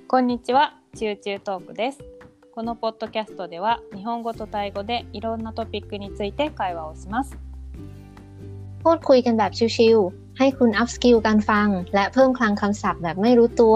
こんにちは、チューチュートークです。このポッドキャストでは日本語とタイ語でいろんなトピックについて会話をします。 พูดคุยกันแบบชิลๆให้คุณอัพสกิลการฟังและเพิ่มคลังคำศัพท์แบบไม่รู้ตัว。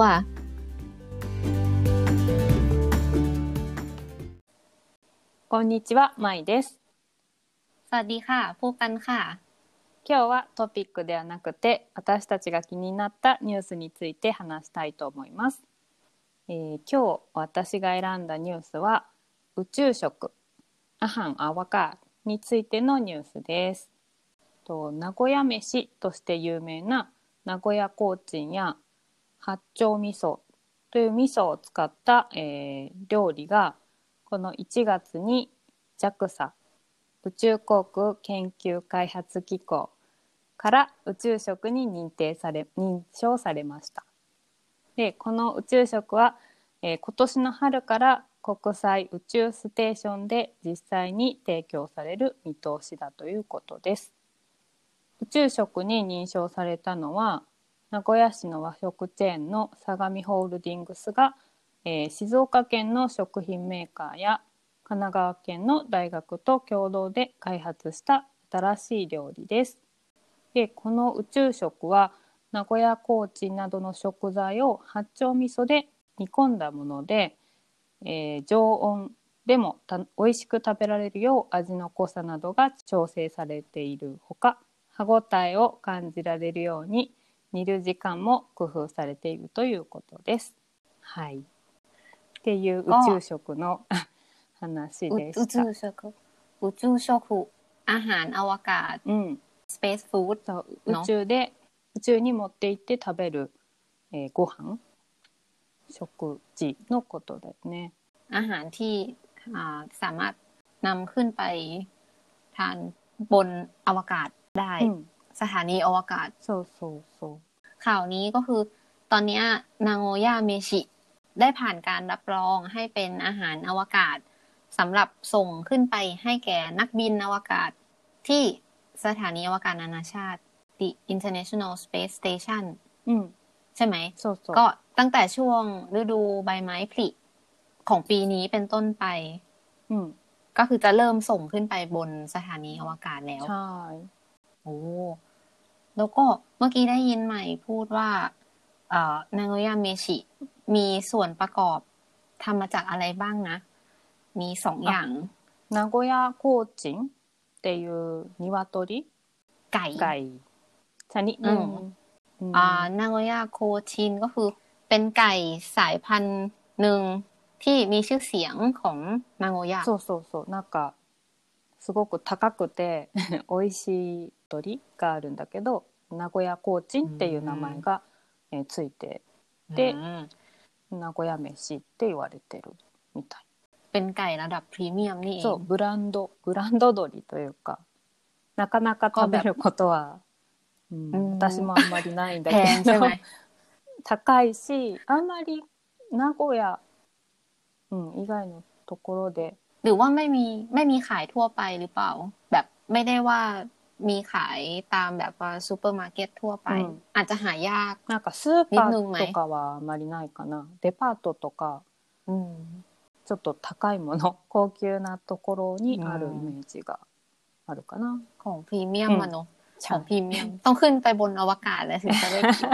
こんにちは、まいです。 สวัสดีค่ะพบกันค่ะ。 今日はトピックではなくて私たちが気になったニュースについて話したいと思います。今日私が選んだニュースは宇宙食アハンアワカーについてのニュースです。名古屋飯として有名な名古屋コーチンや八丁味噌という味噌を使った、料理がこの1月に JAXA 宇宙航空研究開発機構から宇宙食に認証されました。でこの宇宙食は、今年の春から国際宇宙ステーションで実際に提供される見通しだということです。宇宙食に認証されたのは名古屋市の和食チェーンの相模ホールディングスが、静岡県の食品メーカーや神奈川県の大学と共同で開発した新しい料理です。でこの宇宙食は名古屋コーチンなどの食材を八丁味噌で煮込んだもので、常温でも美味しく食べられるよう味の濃さなどが調整されているほか、歯ごたえを感じられるように煮る時間も工夫されているということです。はい。っていう宇宙食の話でした。 宇宙食อาหารอวกาศスペースフード宇宙に持って行って食べる、ご飯食事のことですね。 อาหารที่สามารถนำขึ้นไปทานบนอวกาศได้สถานีอวกาศそうข่าวนี้ก็คือตอนนี้นาโงย่าเมชิได้ผ่านการรับรองให้เป็นอาหารอวกาศสำหรับส่งขึ้นไปให้แก่นักบินอวกาศที่สถานีอวกาศนานาชาติ The International Space Station ใช่ไหมก็ตั้งแต่ช่วงฤดูใบไม้ผลิของปีนี้เป็นต้นไปก็คือจะเริ่มส่งขึ้นไปบนสถานีอวกาศแล้วใช่โอ้แล้วก็เมื่อกี้ได้ยินใหม่พูดว่านางโงย่าเมชิมีส่วนประกอบทำมาจากอะไรบ้างนะมี2อย่าง名古屋コーチンっていう鶏ไก่ชนิดหนึ่งนางโงย่าโคชินก็คือเป็นไก่สายพันธุ์หนึ่งที่มีชื่อเสียงของนางโงย่าそうなんかすごく高くて美味しい鳥があるんだけど名古屋コーチンっていう名前が、ついてで名古屋飯って言われてるみたい。 เป็นไก่ระดับพรีเมียมนี่เองそうブランド鶏というかなかなか食べることは、私もあんまりないんだけど高いしあんまり名古屋、以外のところでหรือว่าไม่มีขายทั่วไปหรือเปล่าแบบไม่ได้ว่ามีขายตามแบบว่าซูเปอร์มาร์เก็ตทั่วไปอาจจะหายากなんかスーパーとかはあんまりないかな。デパートとか、ちょっと高いもの高級なところにあるイメージがあるかな。 ของพรีเมียมเนาะของพรีเมียมต้องขึ้นไปบนอวกาศแล้วถึงจะได้กิน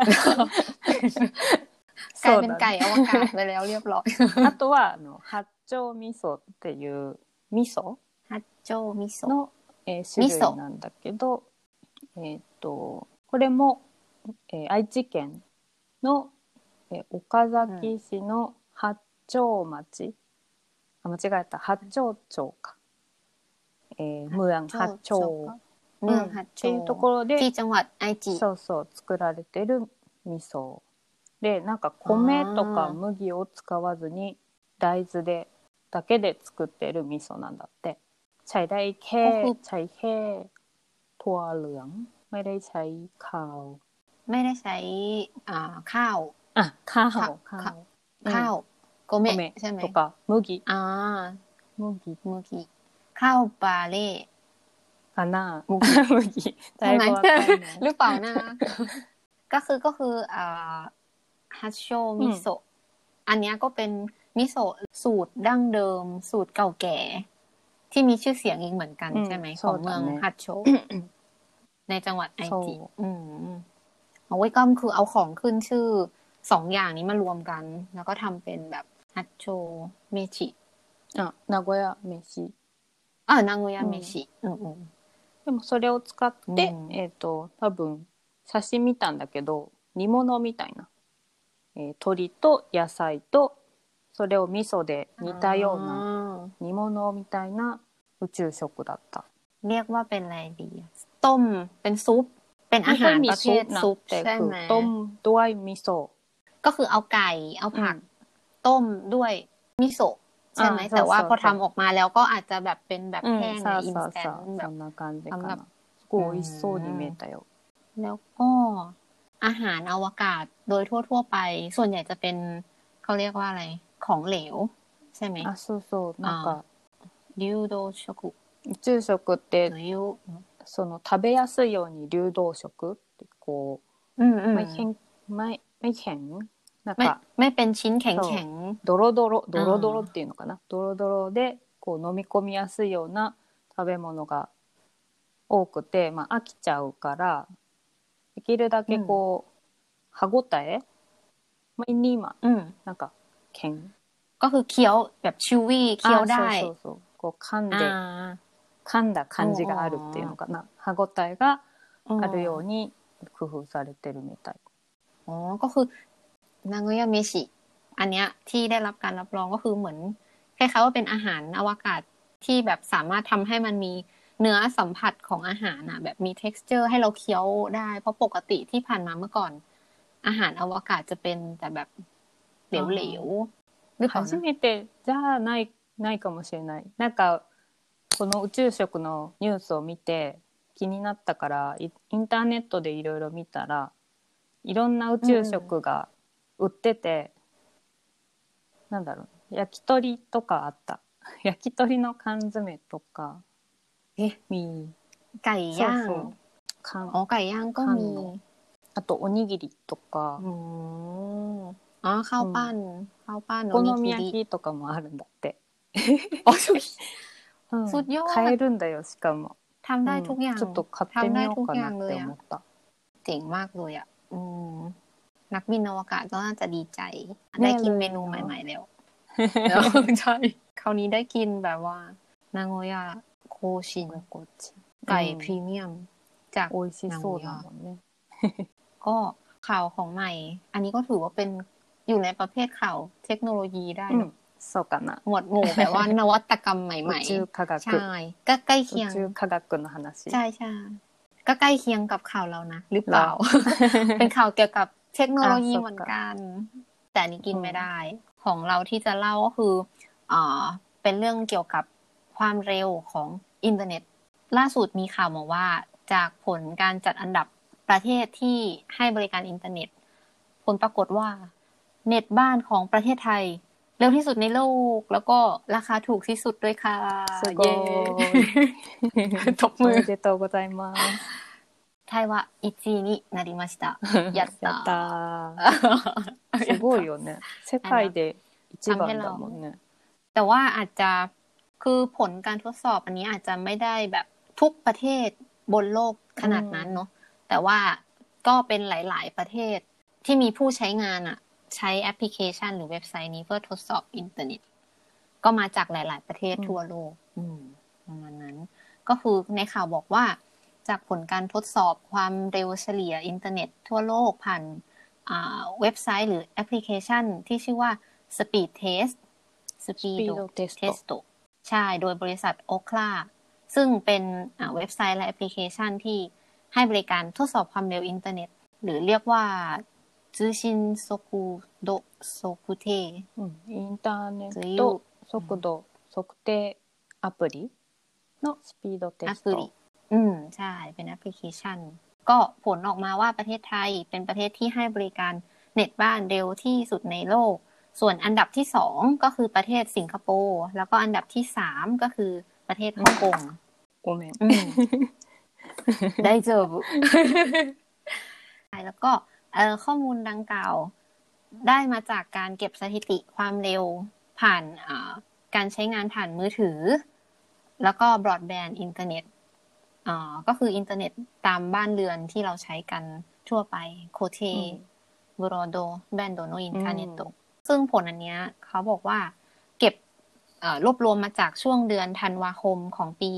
กลายเป็นไก่อวกาศไปแล้วเรียบร้อยあとは八丁味噌っていう味噌八丁味噌の、種類なんだけど、これも、愛知県の、岡崎市の八丁町、間違えた八丁町か、เมือง八丁っていうところでที่จังหวัด愛知そう作られてる味噌でなんか米とか麦を使わずに大豆だけで作ってる味噌なんだって。ใช้ได้แค่ถั่วเหลืองไม่ได้ใช้ข้าวไม่ได้ใช้ข้าวโกเมะใช่ไหมとか麦ข้าวบาเล่かな麦ใช่ไหมหรือเปล่านะก็คือฮัชโชมิโซะอันเนี้ยก็เป็นมิโซะสูตรดั้งเดิมสูตรเก่าแก่ที่มีชื่อเสียงอีกเหมือนกันใช่ไหมของเมืองฮัตโชในจังหวัดไอจิเอาไว้ก็คือเอาของขึ้นชื่อ2อย่างนี้มารวมกันแล้วก็ทำเป็นแบบฮัตโชเมชิ名古屋飯名古屋飯でもそれを使って、多分写真見たんだけど煮物みたいな、鶏と野菜とそれを味噌で煮たような煮物みたいな宇宙食だった。 เรียกว่าเป็นอะไรดีต้มเป็นซุปเป็นอาหารประเภทซุปใช่ไหมต้มด้วยมิโซะก็คือเอาไก่เอาผักต้มด้วยมิโซะใช่ไหมแต่ว่าพอทำออกมาแล้วก็อาจจะแบบเป็นแบบแห้งในอินสแตนต์แบบสำหรับすごい美味しそうに見えたよแล้วก็อาหารอวกาศโดยทั่วๆไปส่วนใหญ่จะเป็นเขาเรียกว่าอะไรของเหลวใช่ไหมそうなんか流動食宇宙食ってその食べやすいように流動食ってこうไม่แข็งなんかไม่เป็นชิ้นแข็งドロドロっていうのかなドロドロでこう飲み込みやすいような食べ物が多くて、飽きちゃうからできるだけこう、歯ごたえไม่นิ่มなんかแข็งก็คือเคี้ยวแบบชิววี่เคี้ยวได้そうこう噛んだ感じがあるっていうのかな歯ごたえがあるように工夫されてるみたいก็คือนางโงยาเมชิอันเนี้ยที่ได้รับการรับรองก็คือเหมือนคล้ายๆว่าเป็นอาหารอวกาศที่แบบสามารถทำให้มันมีเนื้อสัมผัสของอาหารนะแบบมี texture ให้เราเคี้ยวได้เพราะปกติที่ผ่านมาเมื่อก่อนอาหารอวกาศจะเป็นแต่แบบเหลวๆหรือเปล่า初めてじゃないかもしれないなんかこの宇宙食のニュースを見て気になったからインターネットでいろいろ見たらいろんな宇宙食が売ってて、なんだろう焼き鳥とかあった焼き鳥の缶詰とかไก่ย่างไก่ย่างก็มีあとおにぎりとかข้าวปั้นお好み焼きとかもあるんだってสุดยอด買えるんだよしかもทำได้ทุกอย่างちょっと買ってみようかなって思ったเจ๋งมากเลยอ่ะนักบินอวกาศก็น่าจะดีใจได้กินเมนูใหม่ๆแล้วใช่คราวนี้ได้กินแบบว่านางโงยาโคชินไก่พรีเมียมจากนางโงยาก็ข่าวของใหม่อันนี้ก็ถือว่าเป็นอยู่ในประเภทข่าวเทคโนโลยีได้เนาะそうかなหมวดหมู่แบบว่านวัตกรรมใหม่ๆ宇宙科学ใช่ก็ใกล้เคียง宇宙科学の話ใช่ก็ใกล้เคียงกับข่าวเรานะหรือเปล่า เป็นข่าวเกี่ยวกับเทคโนโลยีเหมือนกันแต่นี้กินไม่ได้ของเราที่จะเล่าก็คือเป็นเรื่องเกี่ยวกับความเร็วของอินเทอร์เน็ตล่าสุดมีข่าวมาว่าจากผลการจัดอันดับประเทศที่ให้บริการอินเทอร์เน็ตผลปรากฏว่าเน็ตบ้านของประเทศไทยเร็วที่สุดในโลกแล้วก็ราคาถูกที่สุดด้วยค่ะเย้ตบมือおめでとうございますไทยは1位になりましたやったすごいよね世界で一番だもんねแต่ว่าอาจจะคือผลการทดสอบอันนี้อาจจะไม่ได้แบบทุกประเทศบนโลกขนาดนั้นเนาะแต่ว่าก็เป็นหลายๆประเทศที่มีผู้ใช้งานใช้แอปพลิเคชันหรือเว็บไซต์นี้เพื่อทดสอบอินเทอร์เน็ตก็มาจากหลายๆประเทศทั่วโลกประมาณนั้นก็คือในข่าวบอกว่าจากผลการทดสอบความเร็วเฉลี่ยอินเทอร์เน็ตทั่วโลกผ่านเว็บไซต์หรือแอปพลิเคชันที่ชื่อว่า Speed Test ใช่โดยบริษัท Ookla ซึ่งเป็นเว็บไซต์และแอปพลิเคชันที่ให้บริการทดสอบความเร็วอินเทอร์เน็ตหรือเรียกว่า通信速度測定インターネット速度測定アプリのスピードテストใช่เป็นแอปพลิเคชันก็ผลออกมาว่าประเทศไทยเป็นประเทศที่ให้บริการเน็ตบ้านเร็วที่สุดในโลกส่วนอันดับที่2ก็คือประเทศสิงคโปร์แล้วก็อันดับที่3ก็คือประเทศฮ่องกงごめん大丈夫แล้วก็ข้อมูลดังกล่าวได้มาจากการเก็บสถิติความเร็วผ่านการใช้งานผ่านมือถือแล้วก็บรอดแบนด์อินเทอร์เน็ตก็คืออินเทอร์เน็ตตามบ้านเรือนที่เราใช้กันทั่วไปโคเทบรอโดแบนโดโนอินคาเนโตซึ่งผลอันเนี้ยเขาบอกว่าเก็บรวบรวมมาจากช่วงเดือนธันวาคมของปี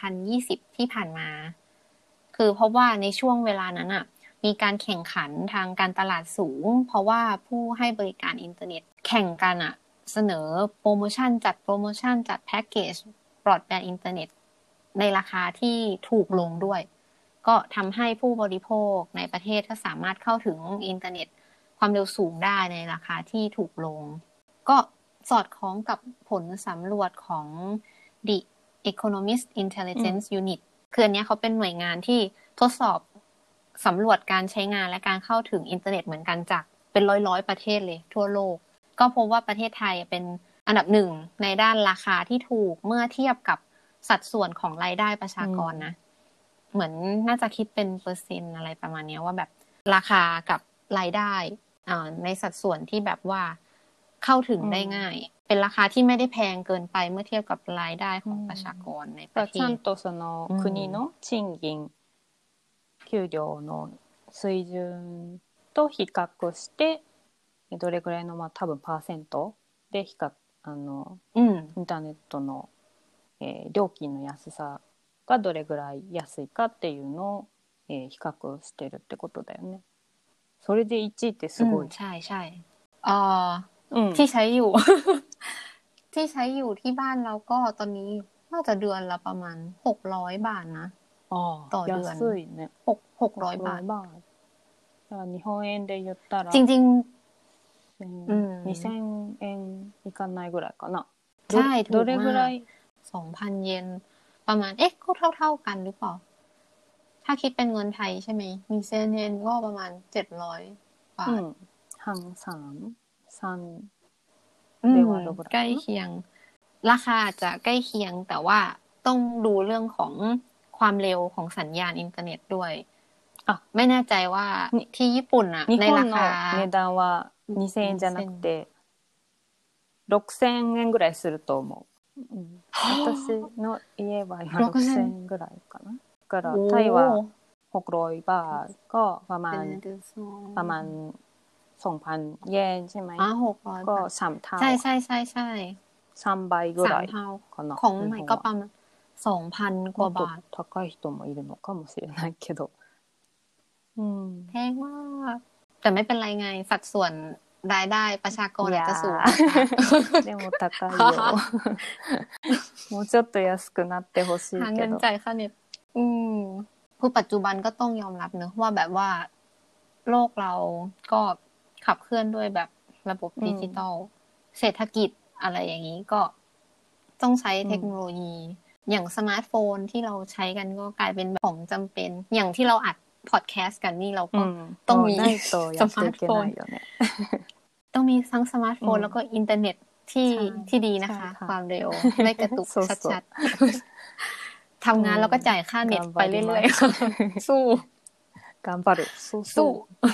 2020ที่ผ่านมาคือเพราะว่าในช่วงเวลานั้นอ่ะมีการแข่งขันทางการตลาดสูงเพราะว่าผู้ให้บริการอินเทอร์เน็ตแข่งกันอ่ะเสนอโปรโมชั่นจัดแพ็กเกจบรอดแบนด์อินเทอร์เน็ตในราคาที่ถูกลงด้วยก็ทำให้ผู้บริโภคในประเทศก็สามารถเข้าถึงอินเทอร์เน็ตความเร็วสูงได้ในราคาที่ถูกลงก็สอดคล้องกับผลสำรวจของ The Economist Intelligence Unit คืออันนี้เขาเป็นหน่วยงานที่ทดสอบสำรวจการใช้งานและการเข้าถึงอินเทอร์เน็ตเหมือนกันจากเป็นร้อยๆประเทศเลยทั่วโลกก็พบว่าประเทศไทยเป็นอันดับหนึ่งในด้านราคาที่ถูกเมื่อเทียบกับสัดส่วนของรายได้ประชากรนะเหมือนน่าจะคิดเป็นเปอร์เซ็นต์อะไรประมาณนี้ว่าแบบราคากับรายได้ในสัดส่วนที่แบบว่าเข้าถึงได้ง่ายเป็นราคาที่ไม่ได้แพงเกินไปเมื่อเทียบกับรายได้ของประชากรในประเทศちゃんとその国の賃金給料の水準と比較してどれぐらいの多分パーセントでインターネットの料金の安さがどれぐらい安いかっていうのを比較してるってことだよね。それで1位ってすごい。 ใช่ใช่ที่ใช้อยู่ ที่ใช้อยู่ที่บ้านเราก็ตอนนี้น่าจะเดือนละประมาณ600 บาทนะต่อเดือน安いね。 600 บาท日本円で言ったらจริงๆ2000円いかないぐらいかな。 ใช่ถูกมากどれぐらい 2,000 เยนประมาณก็เท่ากันหรือเปล่าถ้าคิดเป็นเงินไทยใช่ไหม2,000 เยนก็ประมาณ700 บาทใกล้เคียงราคาอาจจะใกล้เคียงแต่ว่าต้องดูเรื่องของความเร็วของสัญญาณอินเทอร์เน็ตด้วยไม่แน่ใจว่าที่ญี่ปุ่นอ่ะในราคา値段は2000円じゃなくて6000円ぐらいすると思う。私の家は今6000円ぐらいかな。だからタイは600 บาทก็ประมาณ2,000 เยนใช่ไหมก็3 เท่าใช่ 3倍ぐらいかな。 ของใหม่ก็ประมาณ 2,000 กว่าบาท高い人もいるのかもしれないけどแพงมากแต่ไม่เป็นไรไงสัดส่วนรายได้ประชากรอาจจะสูงでも高いよもうちょっと安くなってほしいหาเงิけどนจ่ายค่าเน็ตคือปัจจุบันก็ต้องยอมรับเนอะว่าแบบว่าโลกเราก็ขับเคลื่อนด้วยแบบระบบดิจิตอลเศรษฐกิจอะไรอย่างนี้ก็ต้องใช้เทคโนโลยีอย่างสมาร์ทโฟนที่เราใช้กันก็กลายเป็นของจำเป็นอย่างที่เราอัดพอดแคสต์กันนี่เราก็ต้องมีสมาร์ทโฟนต้องมีทั้งสมาร์ทโฟนแล้วก็อินเทอร์เน็ตที่ดีนะคะความเร็วไม่กระตุกชัดๆทำงานแล้วก็จ่ายค่าเน็ตไปเรื่อยๆสู้頑張るสู้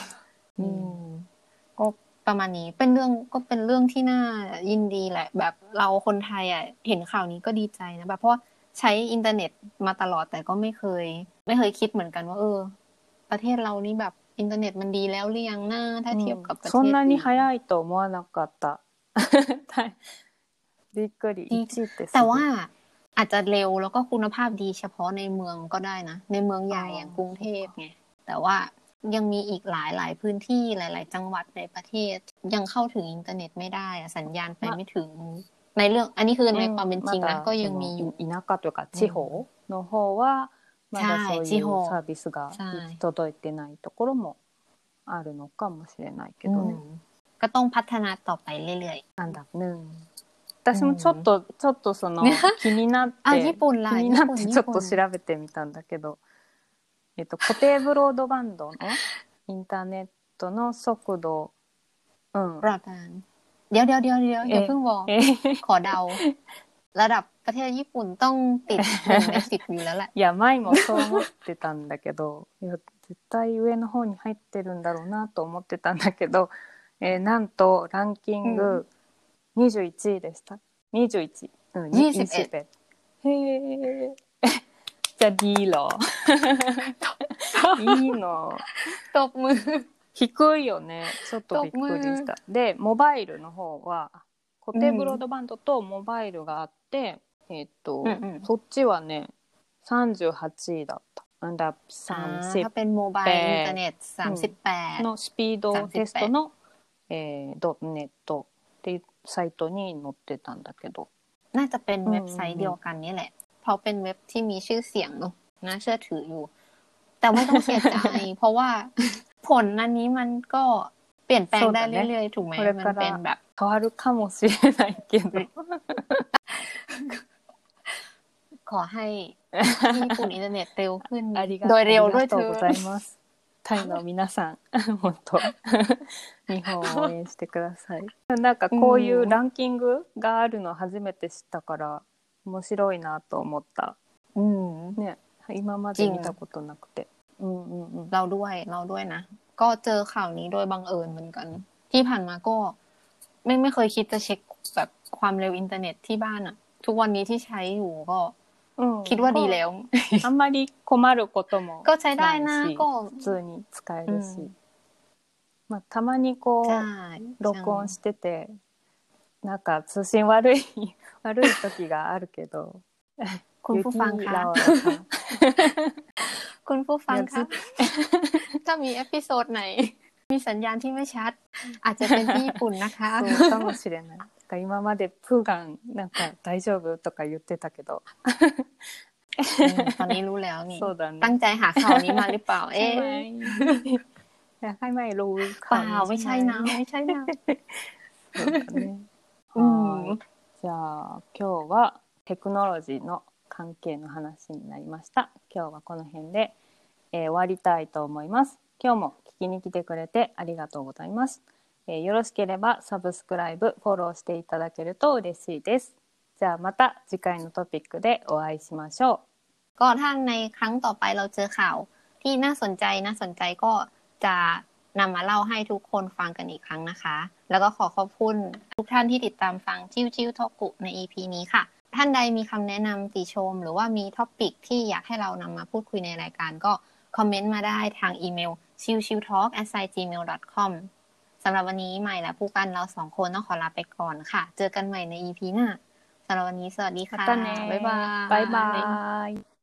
ก็ประมาณนี้เป็นเรื่องที่น่ายินดีแหละแบบเราคนไทยอ่ะเห็นข่าวนี้ก็ดีใจนะแบบเพราะใช้อินเทอร์เน็ตมาตลอดแต่ก็ไม่เคยคิดเหมือนกันว่าประเทศเรานี่แบบอินเทอร์เน็ตมันดีแล้วหรือยังนะถ้าเทียบกับประเทศそんなに早いと思わなかったびっくりแต่ว่าอาจจะเร็วแล้วก็คุณภาพดีเฉพาะในเมืองก็ได้นะในเมืองใหญ่อย่างกรุงเทพไงแต่ว่ายังมีอีกหลายพื้นที่หลายๆจังหวัดในประเทศยังเข้าถึงอินเทอร์เน็ตไม่ได้สัญญาณไปไม่ถึงในเรื่องอันนี้คือในความเป็นจริงนะก็ยังมีอยู่田舎というか地方の方はまだそういうサービスが届いてないところもあるのかもしれないけどね。 ก็ต้องพัฒนาต่อไปเรื่อยๆอันดับหนึ่ง私もちょっとその気になってちょっと調べてみたんだけど固定ブロードバンドのインターネットの速度บรอดแบนด์เดี๋ยวอย่าเพิ่งบอกขอเดาระดับประเทศญี่ปุ่นต้องติด1 ใน 10อยู่แล้วแหละいや前もそう思ってたんだけどいや絶対上の方に入ってるんだろうなと思ってたんだけどなんとランキング21位でした。21、 21 へえじゃあดีเหรอいいのตบมือ低いよね。ちょっとびっくりした。で、モバイルの方は固定ブロードバンドとモバイルがあって、そっちはね38位だった。อันดับถ้าเป็นโมบายอินเทอร์เน็ต38 のスピードテストの、ドットネットっていうサイトに載ってたんだけど、 น่าจะเป็นเว็บไซต์เดียวกันนี่แหละเพราะเป็นเว็บที่มีชื่อเสียงเนอะน่าเชื่อถืออยู่แต่ไม่ต้องเสียใจ เพราะว่าผลอันนี้มันก็เปลี่ยนแปลงได้เรื่อยๆถูกไหมมันเป็นแบบ変わるかもしれないけどขอให้ญี่ปุ่นอินเทอร์เน็ตเร็วขึ้นโดยเร็วด้วยเธอタイの皆さん本当日本を応援してください。なんかこういうランキングがあるの初めて知ったから面白いなと思った。ね、今まで見たことなくて。 เราด้วยนะก็เจอข่าวนี้โดยบังเอิญเหมือนกันที่ผ่านมาก็ไม่เคยคิดจะเช็คแบบความเร็วอินเทอร์เน็ตที่บ้านอะทุกวันนี้ที่ใช้อยู่ก็คิดว่าดีแล้วあんまり困ることもก็ใช้ได้นะก็普通に使えるし、まあたまにこう録音しててなんか通信悪い時があるけどคุณผู้ฟังคะคุณผู้ฟังคะถ้ามีเอพิโซดไหนมีสัญญาณที่ไม่ชัดอาจจะเป็นที่ญี่ปุ่นนะคะそうかもしれない。今までプーガンなんか大丈夫とか言ってたけどตอนนี้รู้แล้วนี่そうだねตั้งใจหาข่าวนี้มาหรือเปล่าอยากให้ไม่รู้เปล่าไม่ใช่นะไม่ใช่นะそうだねじゃあ今日はテクノロジーの関係の話になりました。今日はこの辺で、終わりたいと思います。今日も聞きに来てくれてありがとうございます。よろしければサブスクライブフォローしていただけると嬉しいです。じゃあまた次回のトピックでお会いしましょう。ก็ถ้าในครั้งต่อไปเราเจอข่าวที่น่าสนใจก็จะนำมาเล่าให้ทุกคนฟังกันอีกครั้งนะคะแล้วก็ขอบคุณทุกท่านที่ติดตามฟังจิ้วโทกุใน EP นี้ค่ะท่านใดมีคำแนะนำติชมหรือว่ามีท็อปิกที่อยากให้เรานำมาพูดคุยในรายการก็คอมเมนต์มาได้ทางอีเมล chiwchiwtalk@gmail.com สำหรับวันนี้ใหม่และผู้กันเรา2คนต้องขอลาไปก่อนค่ะเจอกันใหม่ใน EP หน้าสำหรับวันนี้สวัสดีค่ะう。またね。 บ๊ายบายバイバイ。